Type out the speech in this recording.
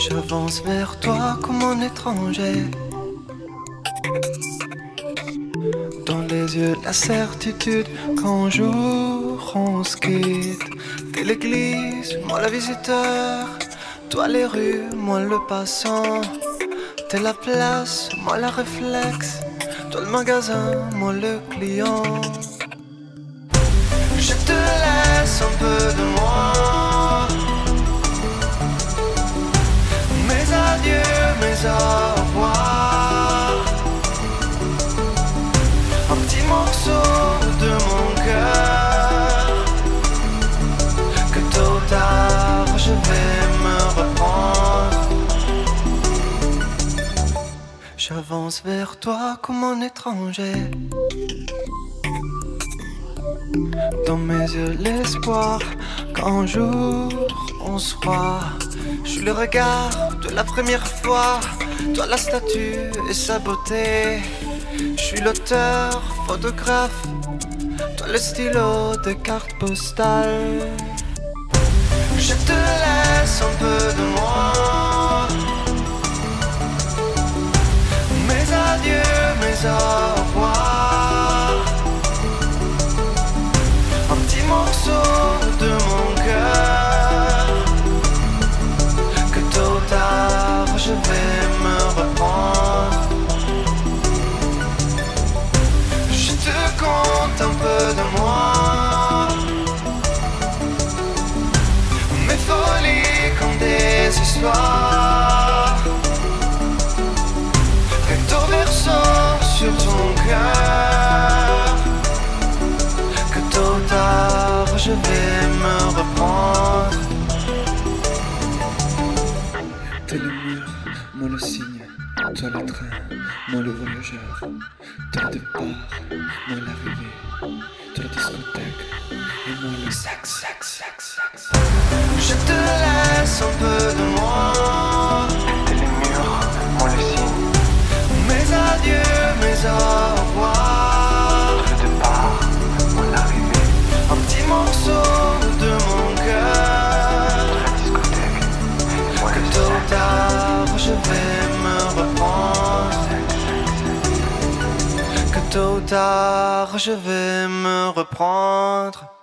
J'avance vers toi comme un étranger. Dans les yeux la certitude qu'un jour on se quitte. T'es l'église, moi le visiteur. Toi les rues, moi le passant. T'es la place, moi la réflexe. Toi le magasin, moi le client. Je te laisse un peu de moi. Mes adieux, mes au revoir. Un petit morceau de mon cœur que tôt ou tard je vais me reprendre. J'avance vers toi comme un étranger. Dans mes yeux l'espoir qu'un jour on se croit. Je suis le regard de la première fois. Toi la statue et sa beauté. Je suis l'auteur, photographe. Toi le stylo des cartes postales. Je te laisse un peu de moi. Mes adieux, mes au revoir. Un petit morceau de mon cœur que tôt ou tard je vais me reprendre. Je te conte un peu de moi. Mes folies comme des histoires. Recto verso sur ton cœur. Que tôt ou tard je vais me reprendre. T'es le mur, moi le signe. Toi le train, moi le voyageur. Toi le départ, moi l'arrivée. Toi la discothèque, et moi le sax. Je te laisse un peu de moi. T'es les murs, moi le signe. Mes adieux, mes au revoir. Le départ, moi l'arrivée. Un petit morceau de mon cœur. La discothèque, moi Que le tôt ou sax. tard je vais me reprendre. Que tôt ou tard je vais me reprendre.